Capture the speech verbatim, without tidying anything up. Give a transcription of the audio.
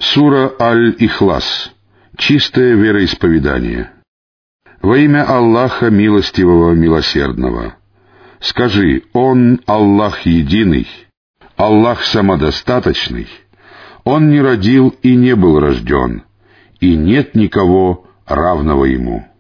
Сура Аль-Ихлас. Чистое вероисповедание. Во имя Аллаха Милостивого Милосердного. Скажи: Он Аллах Единый, Аллах Самодостаточный, Он не родил и не был рожден, и нет никого равного Ему.